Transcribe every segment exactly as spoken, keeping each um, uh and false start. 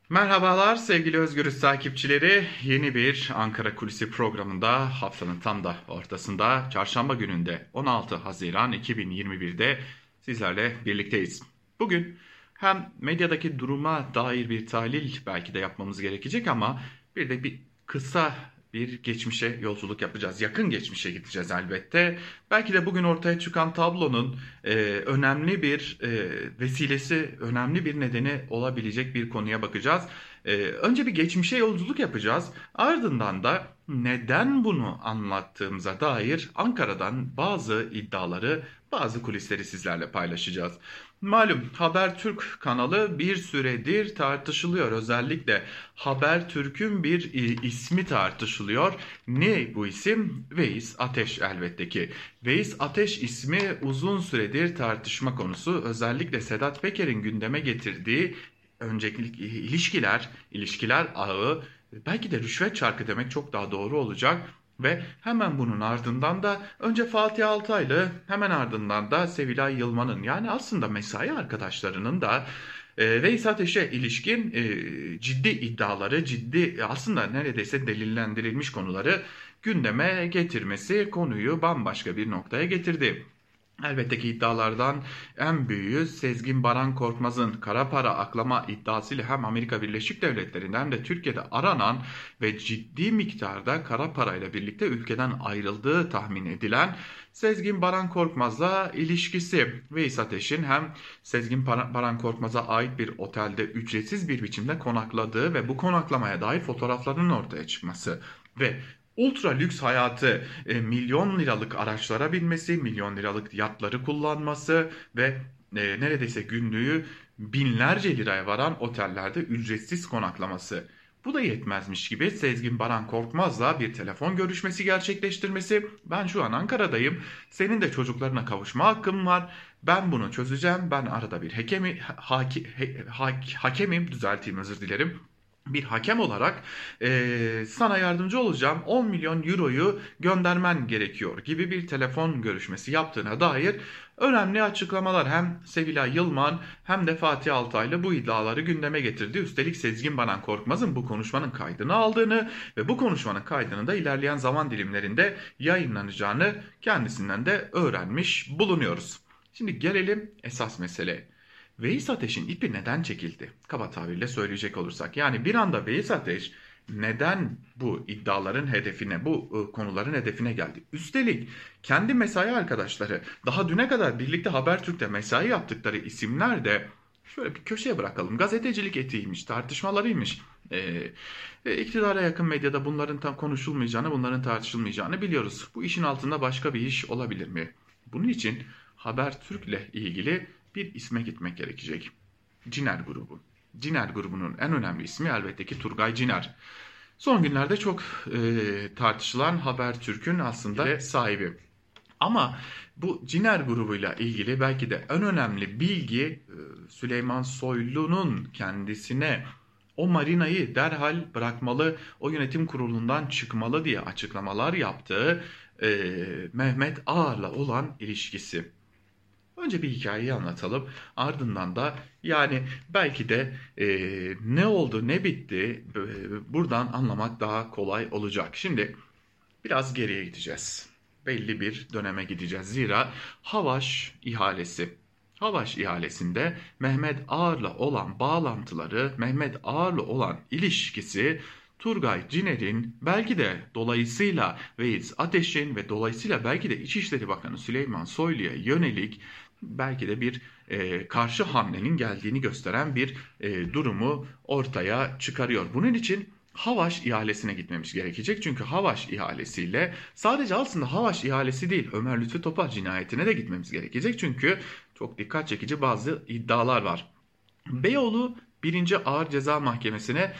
Merhabalar sevgili Özgürüz takipçileri. Yeni bir Ankara Kulisi programında haftanın tam da ortasında çarşamba gününde on altı Haziran iki bin yirmi birde sizlerle birlikteyiz. Bugün hem medyadaki duruma dair bir tahlil belki de yapmamız gerekecek ama bir de bir kısa bir geçmişe yolculuk yapacağız. Yakın geçmişe gideceğiz elbette. Belki de bugün ortaya çıkan tablonun e, önemli bir e, vesilesi, önemli bir nedeni olabilecek bir konuya bakacağız. E, önce bir geçmişe yolculuk yapacağız. Ardından da neden bunu anlattığımıza dair Ankara'dan bazı iddiaları, bazı kulisleri sizlerle paylaşacağız. Malum Habertürk kanalı bir süredir tartışılıyor. Özellikle Habertürk'ün bir e, ismi tartışılıyor. Ne bu isim? Veys Ateş elbette ki. Veys Ateş ismi uzun süredir tartışma konusu. Özellikle Sedat Peker'in gündeme getirdiği öncelikli ilişkiler, ilişkiler ağı, belki de rüşvet çarkı demek çok daha doğru olacak. Ve hemen bunun ardından da önce Fatih Altaylı, hemen ardından da Sevilay Yılmaz'ın, yani aslında mesai arkadaşlarının da e, Veys Ateş'e ilişkin e, ciddi iddiaları, ciddi aslında neredeyse delillendirilmiş konuları gündeme getirmesi konuyu bambaşka bir noktaya getirdi. Elbette ki iddialardan en büyüğü Sezgin Baran Korkmaz'ın kara para aklama iddiasıyla hem Amerika Birleşik Devletleri'nde hem de Türkiye'de aranan ve ciddi miktarda kara parayla birlikte ülkeden ayrıldığı tahmin edilen Sezgin Baran Korkmaz'la ilişkisi. Veys Ateş'in hem Sezgin Baran Korkmaz'a ait bir otelde ücretsiz bir biçimde konakladığı ve bu konaklamaya dair fotoğraflarının ortaya çıkması ve ultra lüks hayatı, e, milyon liralık araçlara binmesi, milyon liralık yatları kullanması ve e, neredeyse günlüğü binlerce liraya varan otellerde ücretsiz konaklaması. Bu da yetmezmiş gibi Sezgin Baran Korkmaz'la bir telefon görüşmesi gerçekleştirmesi. Ben şu an Ankara'dayım. Senin de çocuklarına kavuşma hakkın var. Ben bunu çözeceğim. Ben arada bir hakemi, haki, ha, hakemim, düzelteyim, özür dilerim, bir hakem olarak e, sana yardımcı olacağım, on milyon euroyu göndermen gerekiyor gibi bir telefon görüşmesi yaptığına dair önemli açıklamalar hem Sevilay Yılmaz hem de Fatih Altaylı bu iddiaları gündeme getirdi. Üstelik Sezgin Baran Korkmaz'ın bu konuşmanın kaydını aldığını ve bu konuşmanın kaydının da ilerleyen zaman dilimlerinde yayınlanacağını kendisinden de öğrenmiş bulunuyoruz. Şimdi gelelim esas meseleye. Veys Ateş'in ipi neden çekildi? Kaba tabirle söyleyecek olursak. Yani bir anda Veys Ateş neden bu iddiaların hedefine, bu e, konuların hedefine geldi? Üstelik kendi mesai arkadaşları, daha düne kadar birlikte Habertürk'te mesai yaptıkları isimler de şöyle bir köşeye bırakalım. Gazetecilik etiğiymiş, tartışmalarıymış. Ee, e, iktidara yakın medyada bunların tam konuşulmayacağını, bunların tartışılmayacağını biliyoruz. Bu işin altında başka bir iş olabilir mi? Bunun için Habertürk'le ilgili bir isme gitmek gerekecek. Ciner grubu. Ciner grubunun en önemli ismi elbette ki Turgay Ciner. Son günlerde çok e, tartışılan Habertürk'ün aslında sahibi. Ama bu Ciner grubuyla ilgili belki de en önemli bilgi e, Süleyman Soylu'nun kendisine o marinayı derhal bırakmalı, o yönetim kurulundan çıkmalı diye açıklamalar yaptığı e, Mehmet Ağar'la olan ilişkisi. Önce bir hikayeyi anlatalım. Ardından da yani belki de e, ne oldu ne bitti e, buradan anlamak daha kolay olacak. Şimdi biraz geriye gideceğiz. Belli bir döneme gideceğiz. Zira Havaş ihalesi. Havaş ihalesinde Mehmet Ağar'la olan bağlantıları, Mehmet Ağar'la olan ilişkisi Turgay Ciner'in belki de dolayısıyla Veys Ateş'in ve dolayısıyla belki de İçişleri Bakanı Süleyman Soylu'ya yönelik belki de bir e, karşı hamlenin geldiğini gösteren bir e, durumu ortaya çıkarıyor. Bunun için Havaş ihalesine gitmemiz gerekecek. Çünkü Havaş ihalesiyle sadece aslında Havaş ihalesi değil, Ömer Lütfü Topal cinayetine de gitmemiz gerekecek. Çünkü çok dikkat çekici bazı iddialar var. Beyoğlu birinci Ağır Ceza Mahkemesi'ne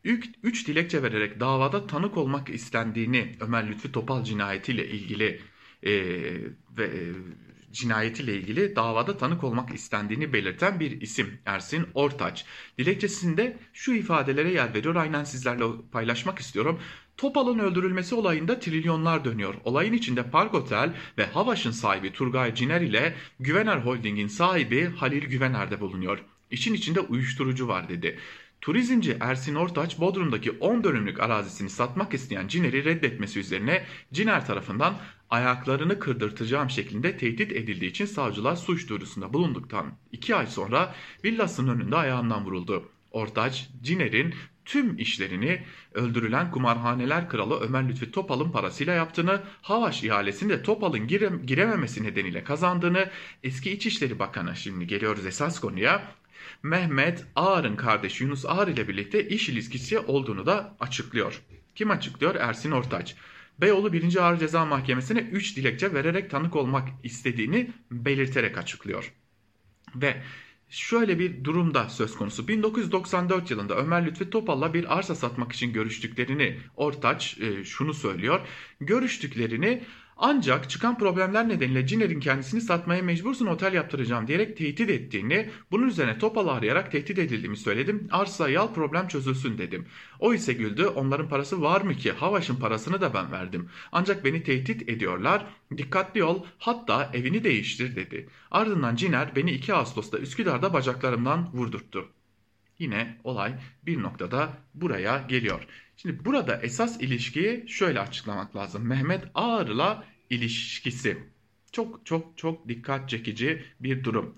üç dilekçe vererek davada tanık olmak istendiğini, Ömer Lütfü Topal cinayetiyle ilgili e, ve e, cinayetiyle ilgili davada tanık olmak istendiğini belirten bir isim Ersin Ortaç. Dilekçesinde şu ifadelere yer veriyor. Aynen sizlerle paylaşmak istiyorum. Topal'ın öldürülmesi olayında trilyonlar dönüyor. Olayın içinde Park Otel ve Havaş'ın sahibi Turgay Ciner ile Güvener Holding'in sahibi Halil Güvener de bulunuyor. İşin içinde uyuşturucu var dedi. Turizmci Ersin Ortaç Bodrum'daki on dönümlük arazisini satmak isteyen Ciner'i reddetmesi üzerine Ciner tarafından ayaklarını kırdırtacağım şeklinde tehdit edildiği için savcılar suç duyurusunda bulunduktan iki ay sonra villasının önünde ayağından vuruldu. Ortaç, Ciner'in tüm işlerini öldürülen kumarhaneler kralı Ömer Lütfi Topal'ın parasıyla yaptığını, Havaş ihalesini de Topal'ın gire, girememesi nedeniyle kazandığını, eski İçişleri Bakanı, şimdi geliyoruz esas konuya, Mehmet Ağar'ın kardeşi Yunus Ağar ile birlikte iş ilişkisi olduğunu da açıklıyor. Kim açıklıyor? Ersin Ortaç. Beyoğlu birinci Ağır Ceza Mahkemesi'ne üç dilekçe vererek tanık olmak istediğini belirterek açıklıyor. Ve şöyle bir durumda söz konusu. bin dokuz yüz doksan dört yılında Ömer Lütfi Topal'la bir arsa satmak için görüştüklerini Ortaç e, şunu söylüyor. Görüştüklerini ancak çıkan problemler nedeniyle Ciner'in kendisini satmaya mecbursun, otel yaptıracağım diyerek tehdit ettiğini, bunun üzerine Topal'ı arayarak tehdit edildiğimi söyledim. Arsayı al, problem çözülsün dedim. O ise güldü. Onların parası var mı ki? Havaş'ın parasını da ben verdim. Ancak beni tehdit ediyorlar. Dikkatli ol, hatta evini değiştir dedi. Ardından Ciner beni iki Ağustos'ta Üsküdar'da bacaklarımdan vurdurttu. Yine olay bir noktada buraya geliyor. Şimdi burada esas ilişkiyi şöyle açıklamak lazım. Mehmet Ağar'la ilişkisi. Çok çok çok dikkat çekici bir durum.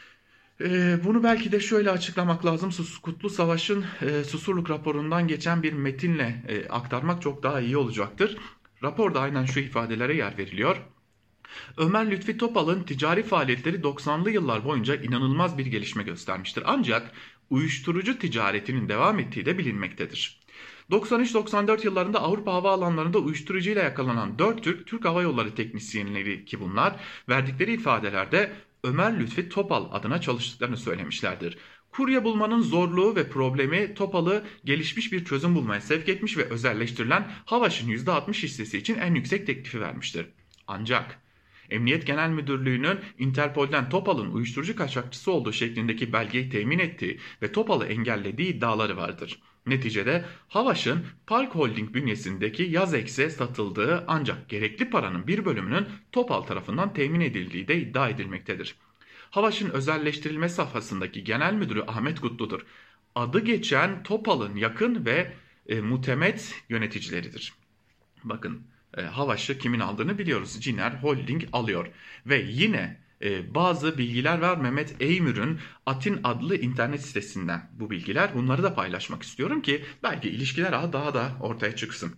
Ee, bunu belki de şöyle açıklamak lazım. Sus, Kutlu Savaş'ın e, Susurluk raporundan geçen bir metinle e, aktarmak çok daha iyi olacaktır. Raporda aynen şu ifadelere yer veriliyor. Ömer Lütfi Topal'ın ticari faaliyetleri doksanlı yıllar boyunca inanılmaz bir gelişme göstermiştir. Ancak uyuşturucu ticaretinin devam ettiği de bilinmektedir. doksan üç doksan dört yıllarında Avrupa havaalanlarında uyuşturucuyla yakalanan dört Türk, Türk Hava Yolları teknisyenleri ki bunlar, verdikleri ifadelerde Ömer Lütfi Topal adına çalıştıklarını söylemişlerdir. Kurye bulmanın zorluğu ve problemi Topal'ı gelişmiş bir çözüm bulmaya sevk etmiş ve özelleştirilen Havaş'ın yüzde altmış hissesi için en yüksek teklifi vermiştir. Ancak Emniyet Genel Müdürlüğü'nün Interpol'den Topal'ın uyuşturucu kaçakçısı olduğu şeklindeki belgeyi temin ettiği ve Topal'ı engellediği iddiaları vardır. Neticede Havaş'ın Park Holding bünyesindeki Yazex'e satıldığı ancak gerekli paranın bir bölümünün Topal tarafından temin edildiği de iddia edilmektedir. Havaş'ın özelleştirilme safhasındaki genel müdürü Ahmet Kutlu'dur. Adı geçen Topal'ın yakın ve e, mutemet yöneticileridir. Bakın, e, Havaş'ı kimin aldığını biliyoruz. Ciner Holding alıyor ve yine e, bazı bilgiler var Mehmet Eymür'ün Atin adlı internet sitesinden bu bilgiler. Bunları da paylaşmak istiyorum ki belki ilişkiler daha da ortaya çıksın.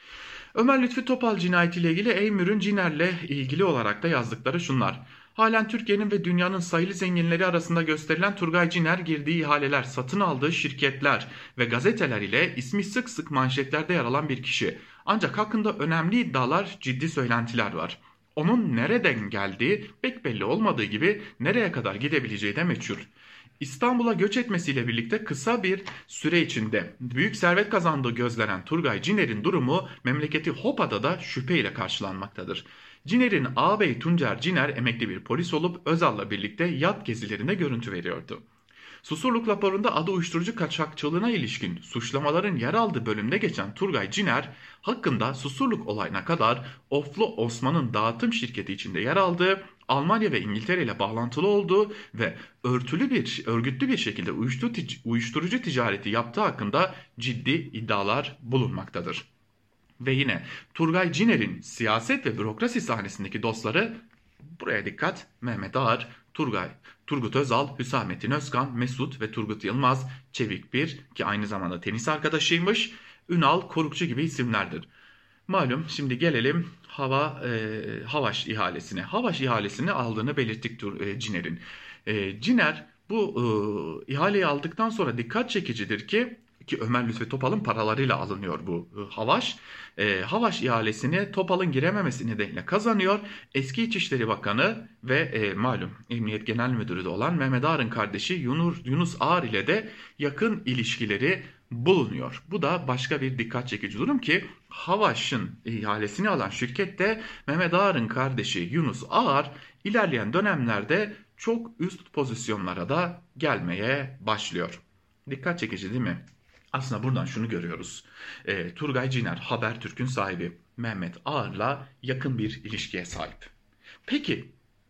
Ömer Lütfi Topal cinayetiyle ilgili Eymür'ün Ciner'le ilgili olarak da yazdıkları şunlar. Halen Türkiye'nin ve dünyanın sayılı zenginleri arasında gösterilen Turgay Ciner girdiği ihaleler, satın aldığı şirketler ve gazeteler ile ismi sık sık manşetlerde yer alan bir kişi. Ancak hakkında önemli iddialar, ciddi söylentiler var. Onun nereden geldiği pek belli olmadığı gibi nereye kadar gidebileceği de meçhul. İstanbul'a göç etmesiyle birlikte kısa bir süre içinde büyük servet kazandığı gözlenen Turgay Ciner'in durumu memleketi Hopa'da da şüpheyle karşılanmaktadır. Ciner'in ağabeyi Tuncer Ciner emekli bir polis olup Özal'la birlikte yat gezilerinde görüntü veriyordu. Susurluk raporunda adı uyuşturucu kaçakçılığına ilişkin suçlamaların yer aldığı bölümde geçen Turgay Ciner hakkında Susurluk olayına kadar Oflu Osman'ın dağıtım şirketi içinde yer aldığı, Almanya ve İngiltere ile bağlantılı olduğu ve örtülü bir örgütlü bir şekilde uyuşturucu ticareti yaptığı hakkında ciddi iddialar bulunmaktadır. Ve yine Turgay Ciner'in siyaset ve bürokrasi sahnesindeki dostları, buraya dikkat, Mehmet Ağar, Turgay, Turgut Özal, Hüsamettin Özkan, Mesut ve Turgut Yılmaz, Çevik Bir ki aynı zamanda tenis arkadaşıymış, Ünal Korukçu gibi isimlerdir. Malum, şimdi gelelim hava e, Havaş ihalesine. Havaş ihalesini aldığını belirttik e, Ciner'in. E, Ciner bu e, ihaleyi aldıktan sonra dikkat çekicidir ki ki Ömer Lütfi Topal'ın paralarıyla alınıyor bu e, Havaş. E, Havaş ihalesini Topal'ın girememesi nedeniyle kazanıyor. Eski İçişleri Bakanı ve e, malum Emniyet Genel Müdürü de olan Mehmet Ağar'ın kardeşi Yunus, Yunus Ağar ile de yakın ilişkileri bulunuyor. Bu da başka bir dikkat çekici durum ki Havaş'ın ihalesini alan şirkette Mehmet Ağar'ın kardeşi Yunus Ağar ilerleyen dönemlerde çok üst pozisyonlara da gelmeye başlıyor. Dikkat çekici değil mi? Aslında buradan şunu görüyoruz. E, Turgay Ciner, Habertürk'ün sahibi Mehmet Ağar'la yakın bir ilişkiye sahip. Peki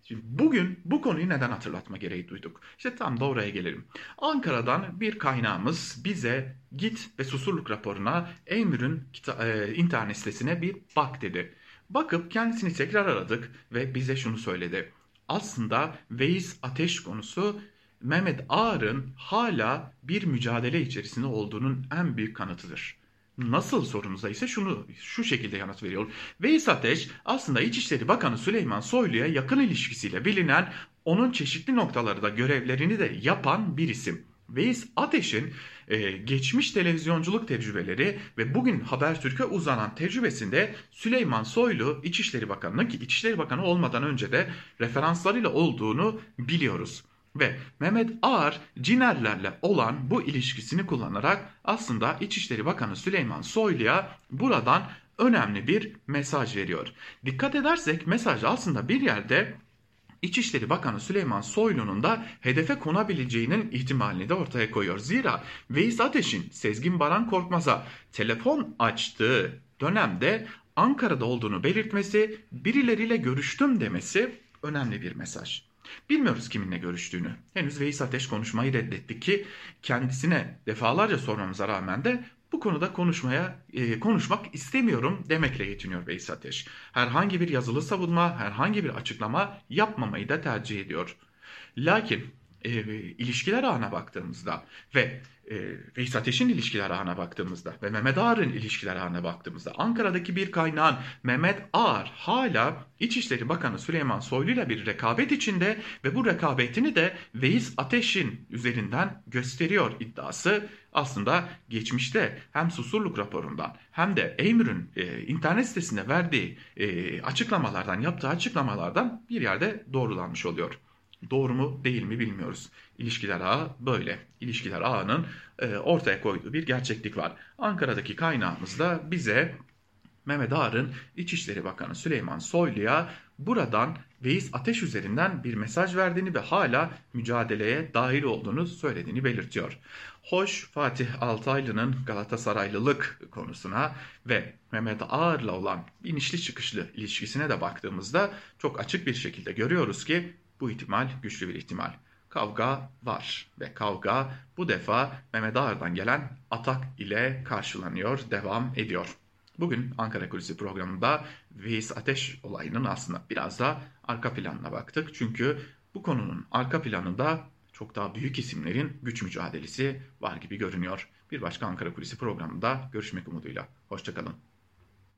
Şimdi bugün bu konuyu neden hatırlatma gereği duyduk? İşte tam da oraya gelelim. Ankara'dan bir kaynağımız bize git ve Susurluk raporuna Eymür'ün e, internet sitesine bir bak dedi. Bakıp kendisini tekrar aradık ve bize şunu söyledi. Aslında Veys Ateş konusu Mehmet Ağar'ın hala bir mücadele içerisinde olduğunun en büyük kanıtıdır. Nasıl sorumuza ise şunu şu şekilde yanıt veriyor. Veys Ateş aslında İçişleri Bakanı Süleyman Soylu'ya yakın ilişkisiyle bilinen, onun çeşitli noktalarda görevlerini de yapan bir isim. Veys Ateş'in e, geçmiş televizyonculuk tecrübeleri ve bugün Habertürk'e uzanan tecrübesinde Süleyman Soylu İçişleri Bakanı'nın, ki İçişleri Bakanı olmadan önce de referanslarıyla olduğunu biliyoruz. Ve Mehmet Ağar Cinerlerle olan bu ilişkisini kullanarak aslında İçişleri Bakanı Süleyman Soylu'ya buradan önemli bir mesaj veriyor. Dikkat edersek mesaj aslında bir yerde İçişleri Bakanı Süleyman Soylu'nun da hedefe konabileceğinin ihtimalini de ortaya koyuyor. Zira Veys Ateş'in Sezgin Baran Korkmaz'a telefon açtığı dönemde Ankara'da olduğunu belirtmesi, birileriyle görüştüm demesi önemli bir mesaj. Bilmiyoruz kiminle görüştüğünü. Henüz Veys Ateş konuşmayı reddetti ki kendisine defalarca sormamıza rağmen de bu konuda konuşmaya e, konuşmak istemiyorum demekle yetiniyor Veys Ateş. Herhangi bir yazılı savunma, herhangi bir açıklama yapmamayı da tercih ediyor. Lakin e, ilişkiler ağına baktığımızda ve e, Veys Ateş'in ilişkiler ağına baktığımızda ve Mehmet Ağar'ın ilişkiler ağına baktığımızda Ankara'daki bir kaynağın Mehmet Ağar hala İçişleri Bakanı Süleyman Soylu ile bir rekabet içinde ve bu rekabetini de Veys Ateş'in üzerinden gösteriyor iddiası aslında geçmişte hem Susurluk raporundan hem de Eymür'ün e, internet sitesinde verdiği e, açıklamalardan, yaptığı açıklamalardan bir yerde doğrulanmış oluyor. Doğru mu değil mi bilmiyoruz. İlişkiler ağı böyle. İlişkiler ağının e, ortaya koyduğu bir gerçeklik var. Ankara'daki kaynağımız da bize Mehmet Ağar'ın İçişleri Bakanı Süleyman Soylu'ya buradan Veys Ateş üzerinden bir mesaj verdiğini ve hala mücadeleye dahil olduğunu söylediğini belirtiyor. Hoş Fatih Altaylı'nın Galatasaraylılık konusuna ve Mehmet Ağar'la olan inişli çıkışlı ilişkisine de baktığımızda çok açık bir şekilde görüyoruz ki bu ihtimal güçlü bir ihtimal. Kavga var ve kavga bu defa Mehmet Ağar'dan gelen atak ile karşılanıyor, devam ediyor. Bugün Ankara Kulisi programında Veys Ateş olayının aslında biraz da arka planına baktık. Çünkü bu konunun arka planında çok daha büyük isimlerin güç mücadelesi var gibi görünüyor. Bir başka Ankara Kulisi programında görüşmek umuduyla. Hoşçakalın.